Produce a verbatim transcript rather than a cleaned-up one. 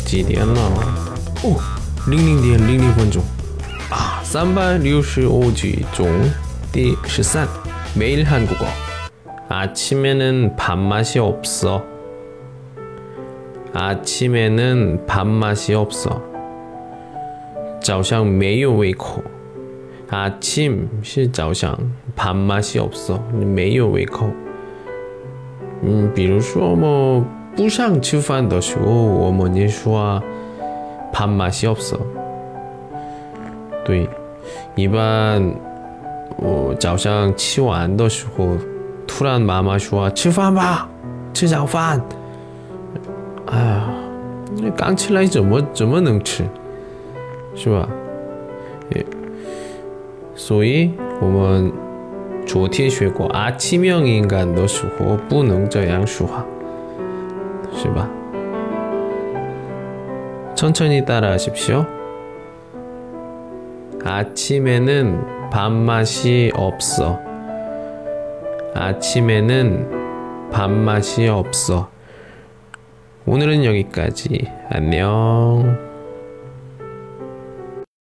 几点了？哦，零零点零零分钟啊，三百六十五集中第十三매일 한국어. 아침에는 밥맛이 없어. 아침에는 밥맛이 없어. 早上没有胃口. 아침 是早上, 밥맛이 없어. 没有胃口. 음, 比如说뭐不想吃饭的时候，我们也说밥맛이 없어. 对，一般我早上吃完的时候，突然妈妈说吃饭吧，吃早饭。哎呀，刚起来怎么怎么能吃，是吧？所以我们昨天学过아침형 인간的时候不能这样说话，是吧？천천히 따라하십시오. 아침에는 밥맛이 없어. 아침에는 밥맛이 없어. 오늘은 여기까지. 안녕.